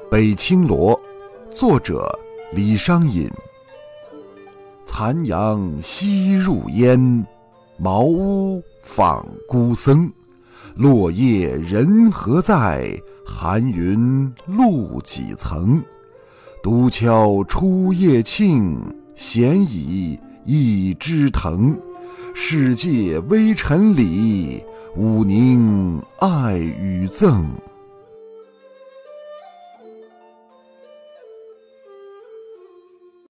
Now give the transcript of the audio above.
北青罗，作者李商隐。残阳西入烟，茅屋访孤僧。落叶人何在？寒云露几层。独敲初夜磬，闲倚一枝藤。世界微尘里，吾宁爱与憎。